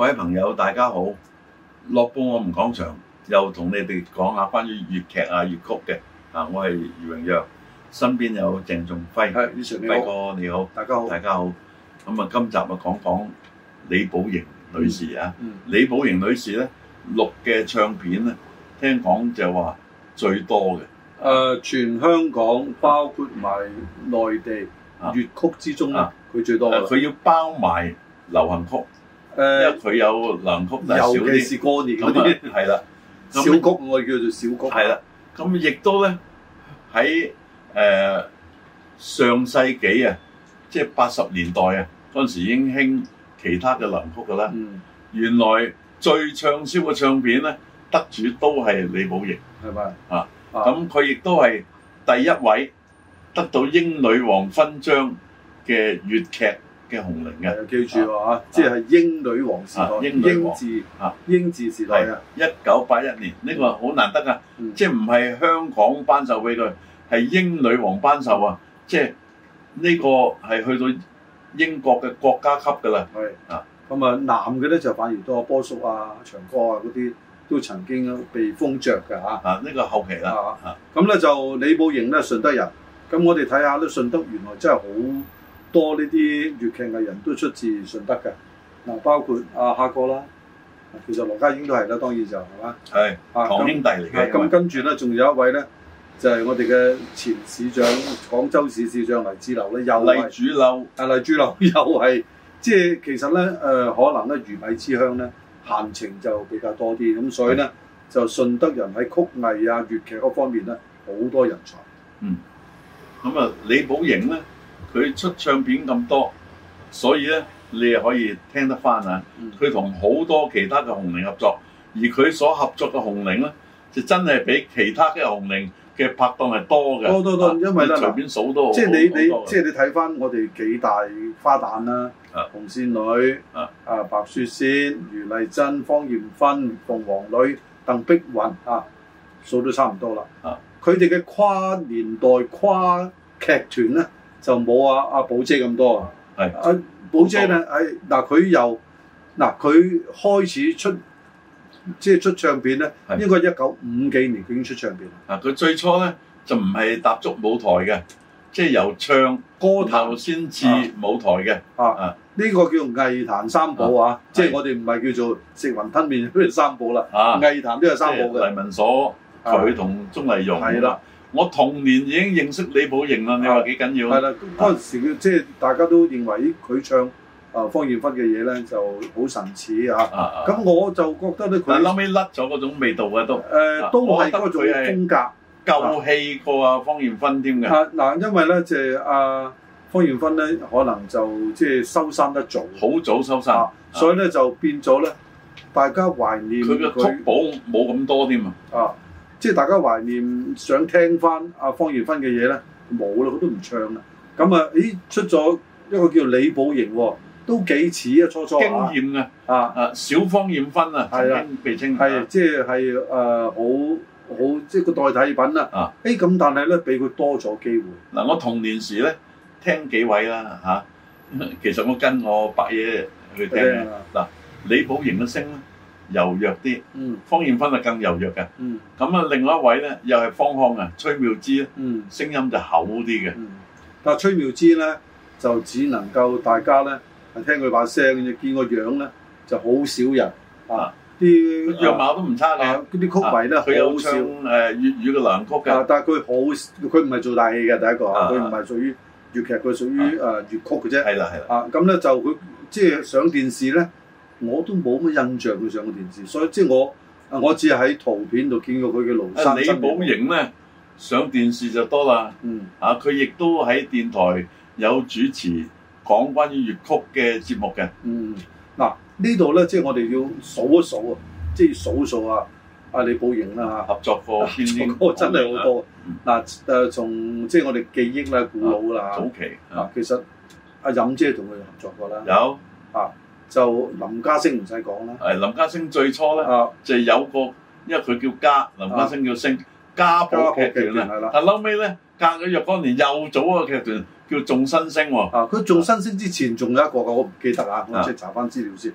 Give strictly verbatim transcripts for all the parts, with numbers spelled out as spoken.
位朋友，大家好！樂報我們講場又同你哋講下關於粵劇啊、粵曲嘅啊，我係余榮陽，身邊有鄭仲輝， 係余 Sir 你好， 輝哥你好， 大家好， 大家好。咁啊，今集啊講講李寶瑩女士啊， 嗯嗯、 李寶瑩女士咧錄嘅唱片咧，聽講就話最多嘅。誒、 呃，全香港包括埋內地粵曲之中咧，佢、啊、最多嘅。 佢、啊、要包埋流行曲。誒，因為佢有流行曲，但係少啲。尤其是過年嗰啲，係啦，小曲我哋叫做小曲。係啦，咁亦都咧喺誒上世紀啊，即係八十年代啊，嗰陣時已經興其他嘅流行曲噶啦。嗯。原來最暢銷嘅唱片咧，得主都係李寶瑩，係咪啊？咁佢亦都係第一位得到英女王勳章嘅粵劇嘅紅伶嘅，記住喎嚇，即係英女王時代，英治啊，英治時代啊，一九八一年呢個好難得啊，即係唔係香港頒授俾佢，係英女王頒授啊，即係呢個係去到英國嘅國家級㗎啦。係啊，咁啊男嘅咧就反而多，波叔啊、長歌啊嗰啲都曾經被封爵㗎嚇。啊，呢個後期啦。啊，咁咧就李寶瑩咧順德人，咁我哋睇下咧順德原來真係好多呢啲粵劇藝人都出自順德嘅，嗱包括阿夏哥啦，其實羅家英都係啦，當然就係嘛，係堂兄弟嚟嘅。咁跟住咧，仲有一位咧，就係、是、我哋嘅前市長，廣州市市長黎志樓咧，又係黎主樓，啊黎主樓又係，即係其實咧誒、呃，可能咧魚米之鄉咧，閒情就比較多啲，咁所以咧就順德人喺曲藝啊、粵劇嗰方面咧，好多人才。嗯，咁啊，李寶瑩咧。佢出唱片咁多，所以咧你又可以聽得翻啊！佢同好多其他嘅紅伶合作，而佢所合作嘅紅伶咧，就真係比其他嘅紅伶嘅拍檔係多嘅。多多多，因為咧隨便數都好。即係你你即係你睇翻我哋幾大花旦啦，紅線女、啊白雪仙、余麗珍、芳艷芬、鳳凰女、鄧碧雲啊，數都差唔多啦。啊，佢哋嘅跨年代跨劇團咧，就冇阿阿寶姐咁多啊！係阿寶姐咧，喺嗱佢又嗱佢開始出即係出唱片咧，應該一九五幾年佢已經出唱片啦。啊，佢最初咧就唔係踏足舞台嘅，即係由唱歌壇先至舞台嘅。啊啊，呢個叫藝壇三寶啊！即係我哋唔係叫做食雲吞麵嗰啲三寶啦。啊，藝壇都有三寶嘅。黎文鎖佢同鍾麗蓉係啦。我童年已經認識李寶瑩啦，你話幾緊要？係啦，嗰陣時即係大家都認為佢唱啊芳艷芬嘅嘢咧就好神似啊。咁我就覺得咧，佢後尾甩咗嗰種味道嘅都誒，都係嗰種風格舊氣過啊芳艷芬添嘅。啊嗱，因為咧即係阿芳艷芬咧，可能就即係收山得早，好早收山，所以咧就變咗咧，大家懷念佢嘅曲寶冇咁多添啊。即係大家懷念想聽翻阿芳艷芬嘅嘢咧，冇啦，佢都唔唱啦。咁啊，咦出咗一個叫李寶瑩喎，都幾似啊初初經驗嘅啊啊小芳艷芬啊，曾經被稱係即係係誒好好即係個代替品啦。啊誒咁，但係咧俾佢多咗機會。嗱、啊，我童年時咧聽幾位啦嚇、啊，其實我跟我伯爺去聽嘅嗱，李寶瑩嘅聲咧柔弱啲，嗯，芳艷芬係更柔弱嘅，嗯，咁啊，另外一位咧又係方腔啊，崔妙芝咧，嗯，聲音就厚啲嘅，嗯，但係崔妙芝咧就只能夠大家咧係聽佢把聲嘅，見個樣咧就好少人啊，啲樣貌都唔差嘅，嗰啲曲藝咧佢有唱誒粵語嘅流行曲嘅，但係佢好佢唔係做大戲嘅第一個，佢唔係屬於粵劇，佢屬於誒粵曲嘅啫，係啦係啦，啊咁咧就佢即係上電視咧。我都冇乜印象佢上過電視，所以即係我啊，我只係喺圖片度見過佢嘅廬山真面目。李寶瑩咧上電視就多啦，嗯啊，佢亦都喺電台有主持講關於粵曲嘅節目嘅，嗯嗱呢度咧即係我哋要數一數啊，即係數數啊，阿李寶瑩啦嚇，合作過邊啲？真係好多嗱誒，從即係我哋記憶啦、古老啦早期啊，其實阿任姐同佢合作過啦，有啊。就林家聲唔使講啦，係林家聲最初咧、啊、就有個，因為佢叫家，林家聲叫聲，家寶劇團啦。但後尾咧隔咗若干年又組一個劇團叫眾新聲喎。啊，佢眾新聲之前仲有一個嘅，我唔記得啊，我即係查翻資料先。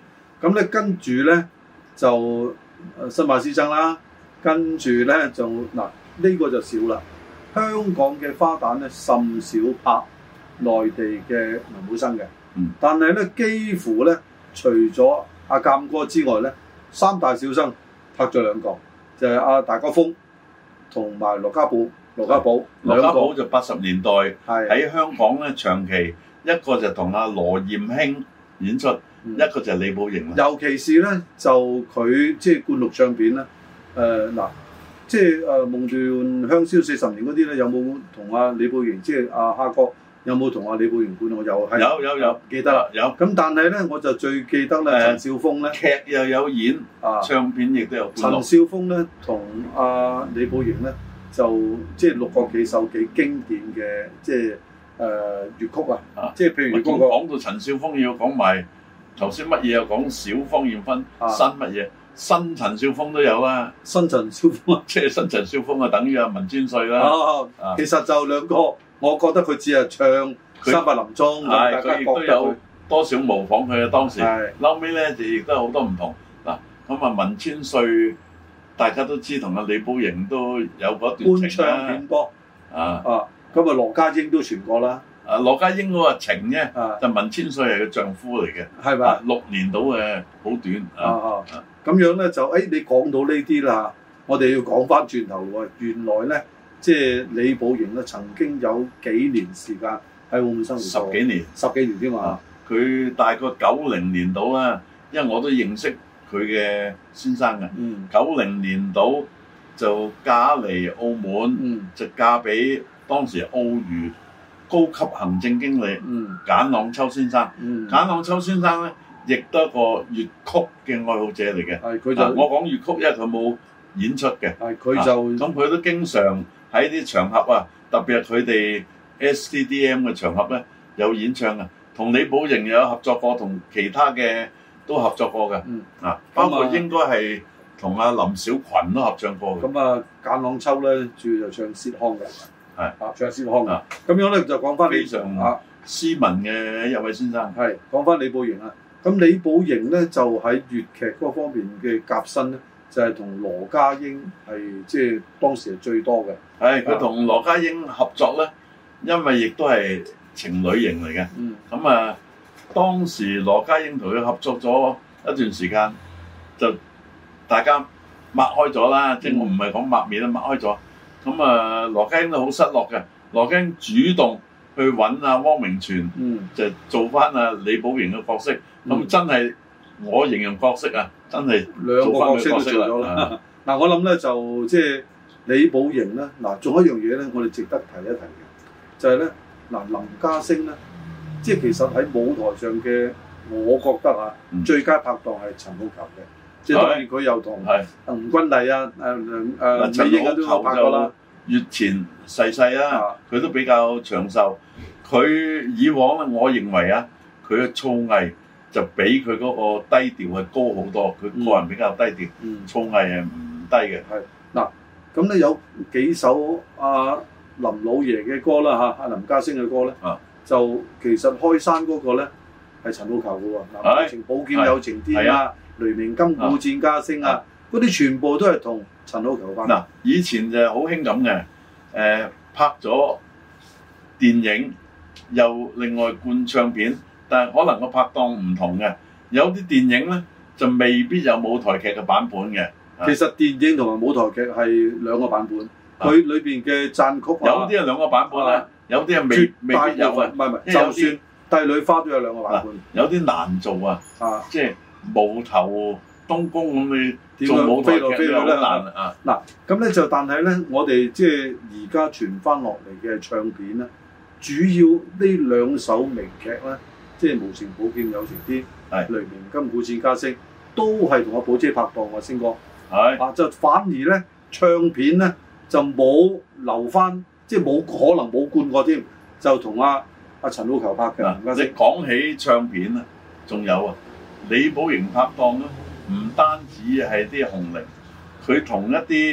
咁咧跟住咧就新馬師曾啦，跟住咧就嗱呢、呢個就少啦。香港嘅花旦咧甚少拍內地嘅文武生嘅， 嗯、但係咧幾乎咧除咗阿鑑哥之外咧，三大小生拍咗兩個，就係、是、阿大哥峰同埋羅家寶。羅家寶， 羅家寶就八十年代喺香港咧長期，一個就同阿羅艷卿演出，嗯、一個就係李寶瑩。尤其是咧就佢即係灌錄唱片咧，誒、呃、嗱，即係誒夢斷香消四十年嗰啲咧，有冇同阿李寶瑩即係阿蝦哥有冇同阿李寶瑩灌錄？我有係有有有記得啦， 有。 咁但係咧我就最記得咧陳少峰咧劇又有演，啊唱片亦都有灌錄。 陳少峰咧同阿李寶瑩咧。就即係六個幾首幾經典嘅即係誒粵曲啊！即係譬如嗰個講到陳少峰要講埋頭先乜嘢又講小芳艷芬，啊、新乜嘢新陳少峰都有啦。 新陳少峰啊， 即係新陳少峰啊，等於阿文千歲啦。 啊啊、其實就兩個，我覺得佢只係唱三百林鐘， 大家亦都有多少模仿佢啊。當時是後尾咧就亦都有好多唔同嗱。咁啊，文千歲。大家都知同阿李寶瑩都有嗰段情啦。 官唱片歌啊啊，咁啊羅家英都傳過啦。 啊羅家英嗰個情啫，啊、就文千歲係佢丈夫嚟嘅， 係咪、啊？ 六年到嘅，好短啊啊！ 咁、啊、樣咧就誒、哎，你講到呢啲啦，我哋要講翻轉頭喎。原來咧，即係李寶瑩咧曾經有幾年時間喺澳門生活過， 十幾年， 十幾年添嘛。 佢、啊、大概九零年到啦，因為我都認識。佢嘅先生嘅，九零、嗯、年度就嫁嚟澳門，嗯、就嫁俾當時澳娛高級行政經理、嗯、簡朗秋先生。嗯、簡朗秋先生咧，亦都係一個粵曲嘅愛好者嚟嘅。係佢就、啊、我講粵曲，因為佢冇演出嘅。係佢就咁，佢、啊、都經常喺啲場合啊，特別係佢哋 S T D M 嘅場合咧，有演唱啊。同李寶瑩有合作過，同其他嘅。都合作過嘅，嗯啊，包括應該係同阿林小群都合唱過嘅。咁啊，簡朗秋咧主要就唱薛腔嘅，係啊，唱薛腔嘅。咁樣咧就講翻非常啊斯文嘅一位先生。係講翻李寶瑩啊，咁李寶瑩咧就喺粵劇嗰方面嘅夾新咧，就係同羅家英係即係當時係最多嘅。係佢同羅家英合作咧，因為亦都係情侶型嚟嘅。嗯，咁啊。當時羅家英同佢合作咗一段時間，就大家擘開咗啦，嗯、即係我唔係講抹面啦，擘開咗。咁啊，羅家英都好失落嘅。羅家英主動去揾阿汪明荃，嗯、就做翻阿李寶瑩嘅角色。咁、嗯、真係我形容角色啊，真係兩個角色都做咗啦。嗱，我諗咧就即係李寶瑩咧，嗱，仲有一樣嘢咧，我哋值得提一提嘅，就係咧嗱，林家聲咧。即係其實喺舞台上嘅，我覺得啊，嗯、最佳拍檔係陳好逑嘅。即係當然佢又同吳君麗啊、誒誒陳美英都拍過啦。月前逝世啦，佢都比較長壽。佢以往咧，我認為啊，佢嘅造詣就比佢嗰個低調係高好多。佢個人比較低調，造詣係唔低嘅。係嗱，咁咧有幾首阿林老爺嘅歌啦嚇，阿林家聲嘅歌咧。啊就其實開山嗰個咧係陳好逑嘅喎，嗱，愛情寶劍有情天啊，雷鳴金鼓戰笳聲啊，嗰啲全部都係同陳好逑有關。嗱，以前就好興咁嘅，誒拍咗電影又另外灌唱片，但係可能個拍檔唔同嘅，有啲電影咧就未必有舞台劇嘅版本嘅。其實電影同埋舞台劇係兩個版本，佢裏邊嘅讚曲有啲係兩個版本咧。有啲係未未必有啊，唔係唔係，就算帝女花都有兩個版本。有啲難做啊，啊，即係無頭東宮咁你做舞台劇都好難啊。嗱，咁咧就但係咧，我哋即係而家傳翻落嚟嘅唱片咧，主要呢兩首名劇咧，即係無情寶劍有情天，係雷鳴金鼓戰笳聲，都係同阿寶姐拍檔嘅星哥。係啊，就反而咧唱片咧就冇留翻。即係冇可能冇灌過添，就同阿阿陳好逑拍嘅。嗱，你講起唱片啊，仲有啊，李寶瑩拍檔咧，唔單止係啲紅伶，佢同一啲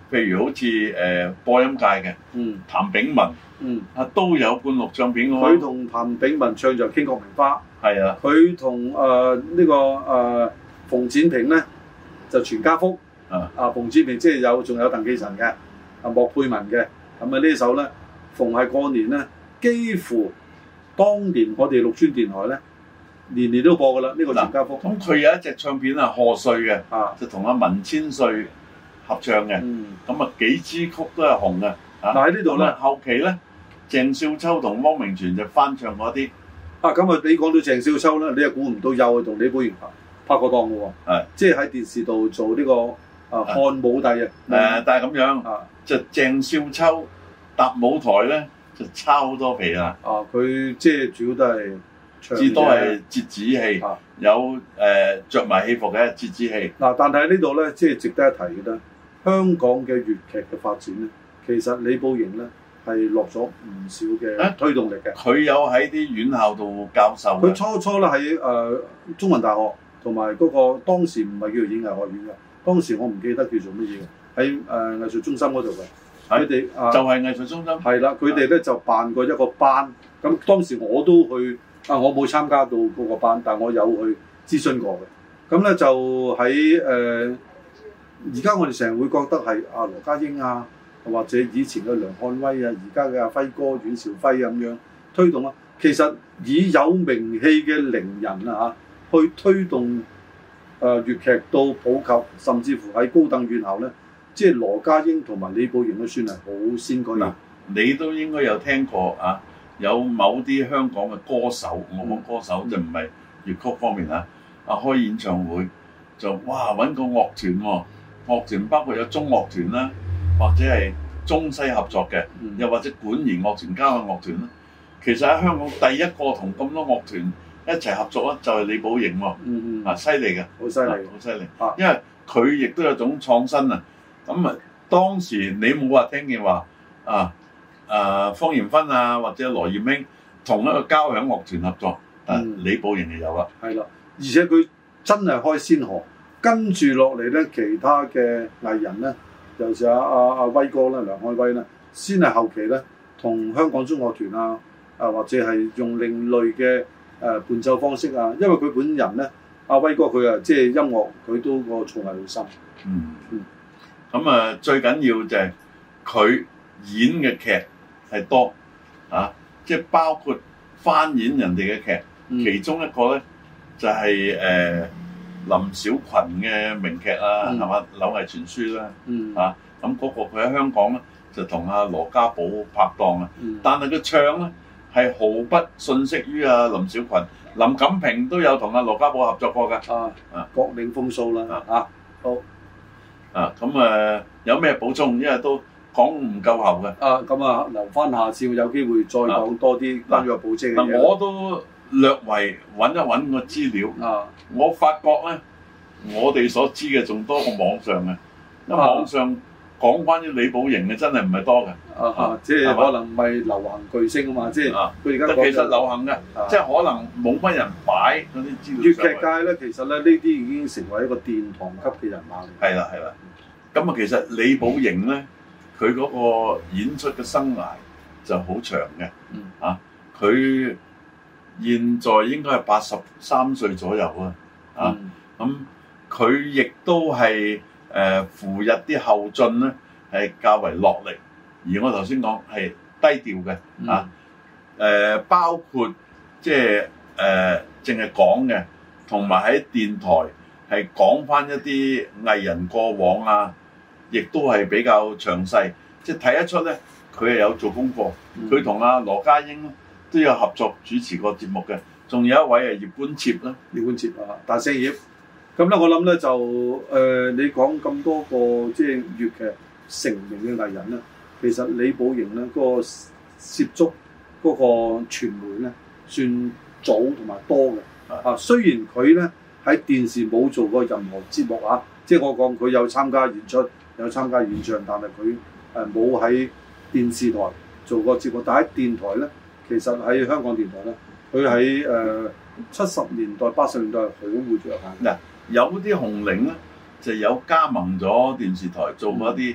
譬如好似誒、呃、播音界嘅，嗯，譚炳文，嗯，啊都有灌錄唱片嘅喎。 佢同譚炳文唱就《傾國名花》， 係啊。佢同誒呢個誒、呃、馮展平咧就《全家福》，啊啊馮展平即係有仲有鄧寄塵嘅，啊莫佩文嘅，咁啊呢首咧逢係過年咧，幾乎當年我哋綠村電台咧年年都播㗎啦，呢、這個《全家福》。咁佢有一隻唱片啊賀歲嘅，啊就同阿文千歲合唱嘅，咁、嗯、啊幾支曲都係紅嘅。啊， 但喺呢度咧， 後期咧，鄭少秋同汪明荃就翻唱嗰啲。 啊，咁啊，你講到鄭少秋咧，你又估唔到又係同李寶瑩拍過檔嘅喎。係，即係喺電視度做呢、這個啊漢武帝啊。誒、 呃，但係咁樣，啊、就鄭少秋搭舞台咧就差好多皮啦。 啊，佢即係主要都係至多係折子戲，啊、有誒著埋戲服嘅折子戲。嗱、 啊，但係呢度咧，即係值得一提嘅咧，香港嘅粵劇嘅發展咧。其實李寶瑩咧係落咗唔少嘅推動力嘅。佢、 啊、有喺啲院校度教授。 佢初初咧喺誒中文大學同埋嗰個當時唔係叫做演藝學院嘅，當時我唔記得叫做乜嘢嘅，喺誒藝術中心嗰度嘅。佢哋啊就係藝術中心。係啦，佢哋咧就辦過一個班。咁當時我都去啊，我冇參加到嗰個班，但我有去諮詢過嘅。咁咧就喺誒而家我哋成日會覺得係阿羅家英啊。或者以前嘅梁漢威啊，而家嘅阿輝哥阮兆輝咁樣推動啊，其實以有名氣嘅伶人啊嚇，去推動誒、呃、粵劇到普及，甚至乎喺高等院校咧，即係羅家英同埋李寶瑩都算係好先驅。嗱， 你都應該有聽過啊，有某啲香港嘅歌手，我講歌手就唔係粵曲方面啊，啊開演唱會就哇揾個樂團喎，樂團包括有中樂團啦。或者係中西合作嘅，嗯、又或者管弦樂團加個樂團啦。其實喺香港第一個同咁多樂團一齊合作咧，就係李寶瑩喎。嗯嗯，啊犀利嘅， 好犀利， 好犀利。啊，因為佢亦都有種創新啊。咁啊，當時你冇話聽見話啊啊方艷芬啊或者羅艷卿同一個交響樂團合作，但、嗯、李寶瑩就有啦。 係啦，而且佢真係開先河，跟住落嚟咧，其他嘅藝人咧。尤其是阿阿阿威哥啦、梁漢威啦，先係後期咧，同香港中樂團啊，啊或者係用另類嘅誒、呃、伴奏方式啊，因為佢本人咧，阿威哥佢啊，即係音樂佢都個造詣好深。 嗯嗯。咁啊、嗯，最緊要就係佢演嘅劇係多啊，即係包括翻演人哋嘅劇，嗯、其中一個咧就係、是、誒。呃林小群嘅名劇啊，係嘛、嗯？柳毅傳書啦，嗯、啊咁嗰個佢喺香港咧就同阿羅家寶拍檔啊，嗯、但係佢唱咧係毫不遜色於阿林小群，林錦平都有同阿羅家寶合作過㗎。啊啊， 各領風騷啦啊，好啊咁誒有咩補充？因為都講唔夠喉嘅。 啊咁啊，留翻下次有機會再講多啲關於個保證嘅嘢。 嗱我都略為揾一揾個資料，啊、我發覺咧，我哋所知嘅仲多過網上嘅，因為網上講關於李寶瑩嘅真係唔係多嘅， 啊啊、即係可能唔係流行巨星啊嘛，即係佢而家其實流行嘅，啊、即係可能冇乜人擺嗰啲資料。 粵劇界咧，其實咧呢啲已經成為一個殿堂級嘅人馬嚟。 係啦係啦，咁啊其實李寶瑩咧，佢嗰個演出嘅生涯就好長嘅，嗯、啊佢。現在應該係八十三歲左右啊，啊咁佢亦都係誒扶入啲後進咧，係較為落力。而我頭先講係低調嘅啊，誒、呃、包括即係誒淨係講嘅，同埋喺電台係講翻一啲藝人過往啊，亦都係比較詳細，即係睇得出咧，佢係有做功課。佢同阿羅家英都有合作主持過節目嘅，仲有一位係葉冠徹啦， 葉冠徹啊，大聲葉。咁咧，我諗咧就誒、呃，你講咁多個即係粵劇成名嘅藝人咧，其實李寶瑩咧嗰、那個涉足嗰個傳媒咧，算早同埋多嘅。啊，雖然佢咧喺電視冇做過任何節目啊，即係我講佢有參加演出，有參加演唱，但係佢誒冇喺電視台做過節目，但喺電台咧。其實喺香港電台咧，佢喺誒七十年代、八十年代係好活躍嘅。嗱， 有啲紅伶咧就有加盟咗電視台，做過一啲誒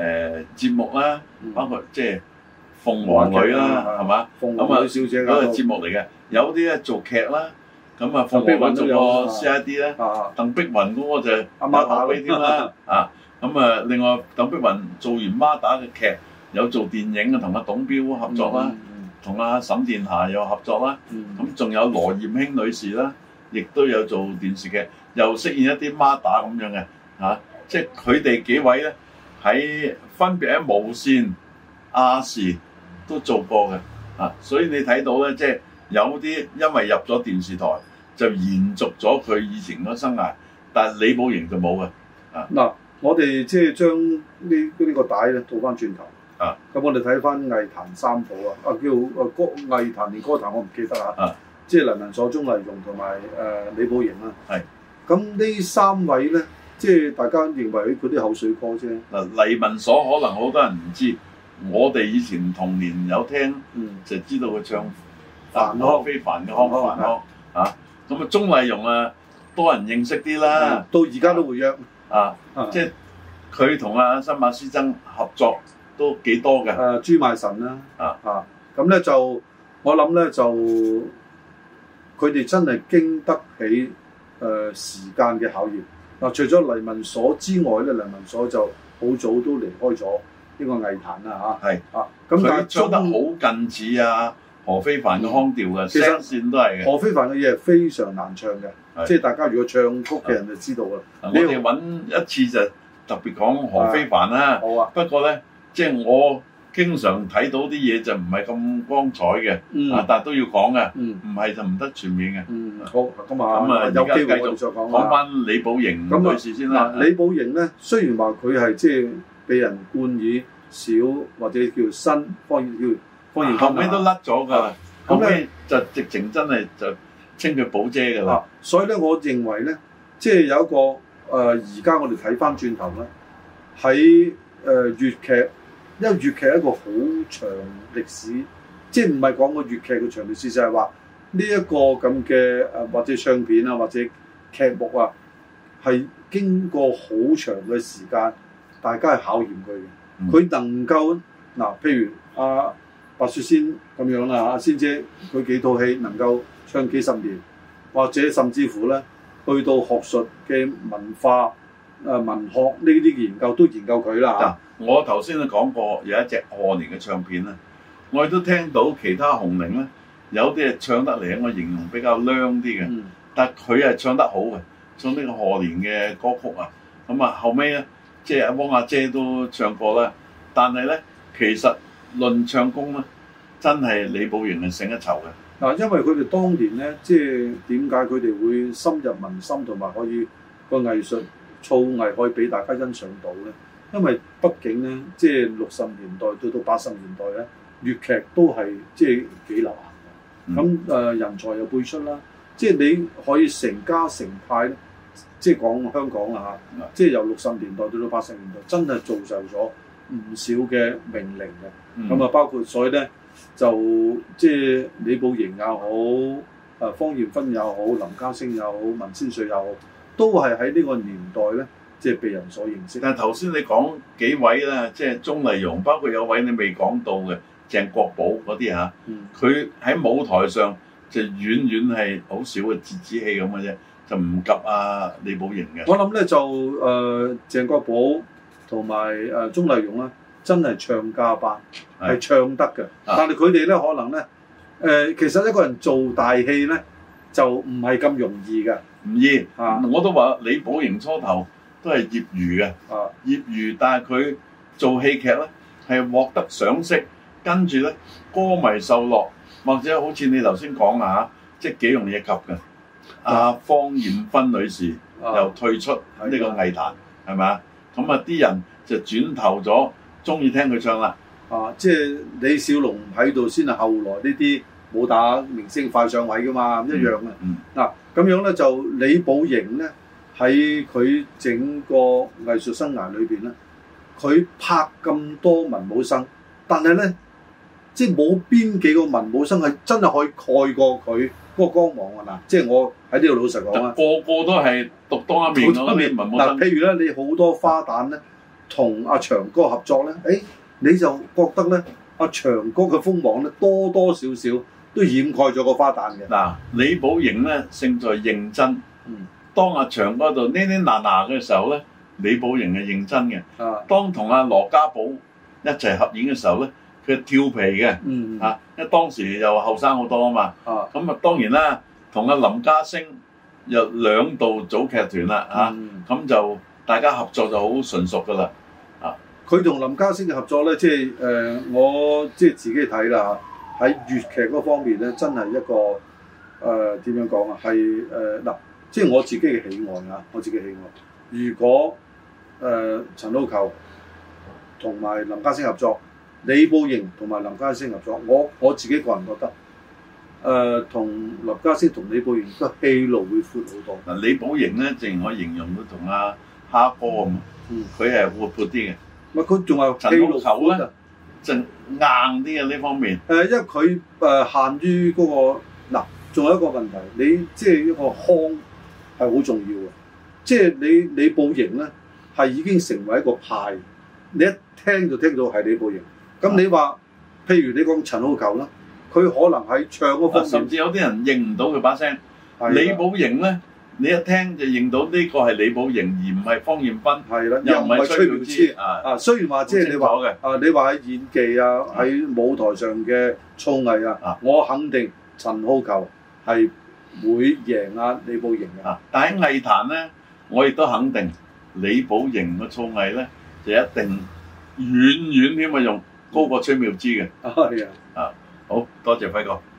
誒節目啦，包括即係鳳凰女啦，係嘛？咁啊，小姐嗰個節目嚟嘅，有啲咧做劇啦，咁啊鳳凰女做個 C I D 咧，鄧碧雲嗰個就阿媽打俾添啦，啊咁啊，另外鄧碧雲做完媽打嘅劇，有做電影啊，同阿董彪合作啦，同阿沈殿霞又合作啦，咁仲有羅艷卿女士啦，亦都有做電視劇，又飾演一啲媽打咁樣嘅嚇，即係佢哋幾位咧喺分別喺無線、亞視都做過嘅啊，所以你睇到咧，即係有啲因為入咗電視台就延續咗佢以前嗰生涯，但係李寶瑩就冇嘅啊。嗱， 我哋即係將呢呢個帶咧倒翻轉頭啊，咁我哋睇翻藝壇三寶啊，啊叫啊歌藝壇定歌壇我唔記得啊，啊即係黎民所、鍾麗蓉同埋誒李寶瑩啦。係，咁呢三位咧，即係大家認為佢啲口水歌啫。 嗱，黎民所可能好多人唔知。我哋以前童年有聽，嗯、就知道佢唱《何非凡嘅康繁康》嚇，咁啊鍾麗蓉啊多人認識啲啦， 到而家都會約啊，啊即係佢同阿新馬師曾合作都幾多嘅。誒、 啊、朱買臣啦，啊啊咁咧就我諗咧就佢哋真係經得起誒、呃、時間嘅考驗。嗱、啊，除咗黎民所之外咧，黎民所就好早都離開咗呢個藝壇啦嚇，係啊，咁但係唱得好近似啊何非凡嘅腔調嘅，聲線都係嘅。 何非凡嘅嘢係非常難唱嘅，即係大家如果唱曲嘅人就知道啦。 我哋揾一次就特別講何非凡啦。好啊，不過咧，即係我經常睇到啲嘢就唔係咁光彩嘅，啊，但係都要講嘅，唔係就唔得全面嘅。 嗯，好，咁啊， 咁啊，有機會繼續再講講翻李寶瑩女士先啦。 李寶瑩咧，雖然話佢係即係被人冠以小或者叫新方言叫方言， 後尾都甩咗㗎啦。後尾就直情真係就稱佢寶姐㗎啦。 所以咧，我認為咧，即係有一個誒，而家我哋睇翻轉頭咧，喺誒粵劇，因為粵劇係一個好長歷史，即係唔係講個粵劇嘅長歷史，就係話呢一個咁嘅誒或者唱片啊，或者劇目啊，係經過好長嘅時間。大家係考驗佢嘅，佢、嗯、能夠嗱，譬如阿、啊、白雪仙咁樣啦，阿仙姐佢幾套戲能夠唱幾十年，或者甚至乎咧去到學術嘅文化誒、呃、文學呢啲研究都研究佢啦嚇。 我頭先都講過有一隻賀年嘅唱片啦，我亦都聽到其他紅伶咧有啲係唱得嚟，我形容比較娘啲嘅，嗯、但係佢係唱得好嘅，唱呢個賀年嘅歌曲啊，咁啊後尾咧。即係阿汪阿姐都唱過啦，但係咧其實論唱功咧，真係李寶瑩係勝一籌嘅。 嗱，因為佢哋當年咧，即係點解佢哋會深入民心，同埋可以個藝術造詣可以俾大家欣賞到咧？因為畢竟咧，即係六十年代到到八十年代咧，粵劇都係即係幾流行嘅。咁誒、嗯呃、人才又輩出啦，即係你可以成家成派咧。即係講香港啦嚇，即係由六十年代到到八十年代，真係造就咗唔少嘅名伶嘅。咁啊、嗯，包括所以咧，就即係李寶瑩又好，誒芳艷芬又好，林家聲又好，文千歲又好，都係喺呢個年代咧，即係被人所認識。 但係頭先你講幾位咧，即係鍾麗蓉，包括有位你未講到嘅鄭國寶嗰啲嚇，佢喺、嗯、舞台上就遠遠係好少嘅折子戲咁嘅啫。就唔及啊李寶瑩嘅。 我諗咧就誒、呃、鄭國寶同埋誒鍾麗蓉咧，真係唱家班，係的唱得嘅。啊、但係佢哋咧可能咧誒、呃，其實一個人做大戲咧就唔係咁容易嘅。 唔易啊！我都話李寶瑩初頭都係業餘嘅，啊、業餘，但係佢做戲劇咧係獲得賞識，跟住咧歌迷受落，或者好似你頭先講啊，即係幾容易及嘅。阿芳艷芬女士又退出呢個藝壇，係咪啊？咁啊啲人就轉投咗，中意聽佢唱啦。 啊，即係李小龍喺度先係後來呢啲武打明星快上位噶嘛，一樣嘅。嗱咁、嗯嗯啊、樣咧就李寶瑩咧喺佢整個藝術生涯裏邊咧，佢拍咁多文武生，但係咧即係冇邊幾個文武生係真係可以蓋過佢嗰個光芒啊！嗱，即係我喺呢度老實講啊， 個個都係獨當一面嗰啲文武生。嗱， 譬如咧，你好多花旦咧， 同阿長哥合作咧，誒你就覺得咧阿長哥嘅鋒芒咧多多少少都掩蓋咗個花旦嘅。 嗱，李寶瑩咧勝在認真。 嗯。當阿長哥度呢呢嗱嗱嘅時候咧，李寶瑩係認真嘅。 啊。 當同阿羅家寶一齊合演嘅時候咧，佢係跳皮嘅。 嗯。 啊，因為當時又後生好多啊嘛。 啊。 咁啊當然啦，同阿林家聲又兩度組劇團啦。嚇、嗯。咁、啊、就大家合作就好純熟噶啦。啊。佢同林家聲嘅合作咧，即係誒、呃、我即係自己睇啦嚇，喺粵劇嗰方面咧，真係一個誒點、呃、樣講啊？係誒嗱，即係我自己嘅喜愛啊！我自己喜愛。如果誒、呃、陳浩球同埋林家聲合作，李寶瑩同埋林家聲合作，我我自己個人覺得誒同、呃、林家聲同李寶瑩個戲路會闊好多。 嗱，李寶瑩咧，正如我形容到同阿蝦哥咁，佢係、嗯、活潑啲嘅。咪佢仲係陳浩球咧，就硬啲嘅呢方面。誒、呃，因為佢誒、呃、限於嗰、那個嗱，仲有一個問題，你即係一個腔係好重要嘅。即係你李寶瑩咧，係已經成為一個派，你一聽就聽到係李寶瑩。咁你話，譬如你講陳浩球啦，佢可能喺唱嗰方面，甚至有啲人認唔到佢把聲。李寶瑩咧，你一聽就認到呢個係李寶瑩，而唔係方艷芬。係啦，又唔係崔妙芝。啊啊，雖然話即係你話啊，你話喺演技啊，喺舞台上嘅操藝啊，我肯定陳浩球係會贏啊李寶瑩嘅。但喺藝壇咧，我亦都肯定李寶瑩嘅操藝咧，就一定遠遠添啊，用高過崔妙芝嘅。係啊，啊好多謝輝哥。